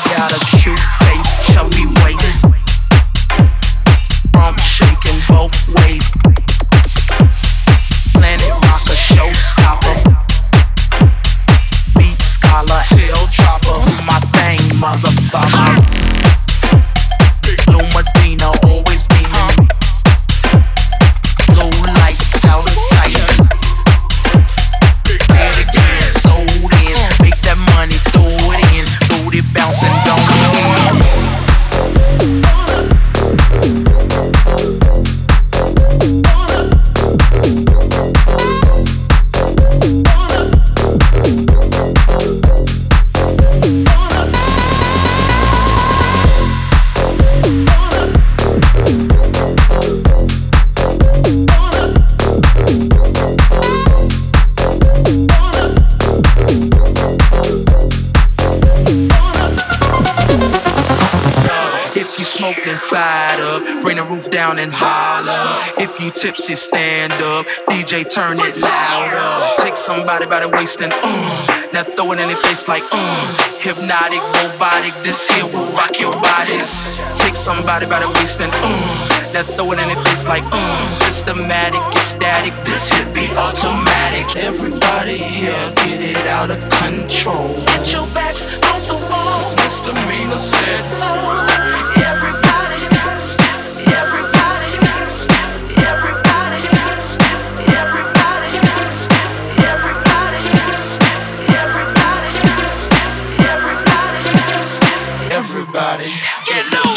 got a cute face, chubby waist, rump shaking both ways. Planet rocker, showstopper, beat scholar, tail dropper. My thing, motherfucker. Blue Medina, always beaming. Blue lights out of sight. Play it again, sold in. Make that money, throw it in. Booty bouncing, don't smoking, fired up, bring the roof down and holler. If you tipsy, stand up, DJ turn it louder. Take somebody by the waist and now throw it in their face like hypnotic, robotic, this here will rock your bodies. Take somebody by the waist and now throw it in their face like systematic, ecstatic, this hit be automatic. Everybody here get it out of control. Get your backs on the wall, 'cause misdemeanor said so. Everybody step, step, everybody step, step, everybody step, step, everybody step, step, everybody step, step, everybody step, step, everybody step, step, everybody get loose.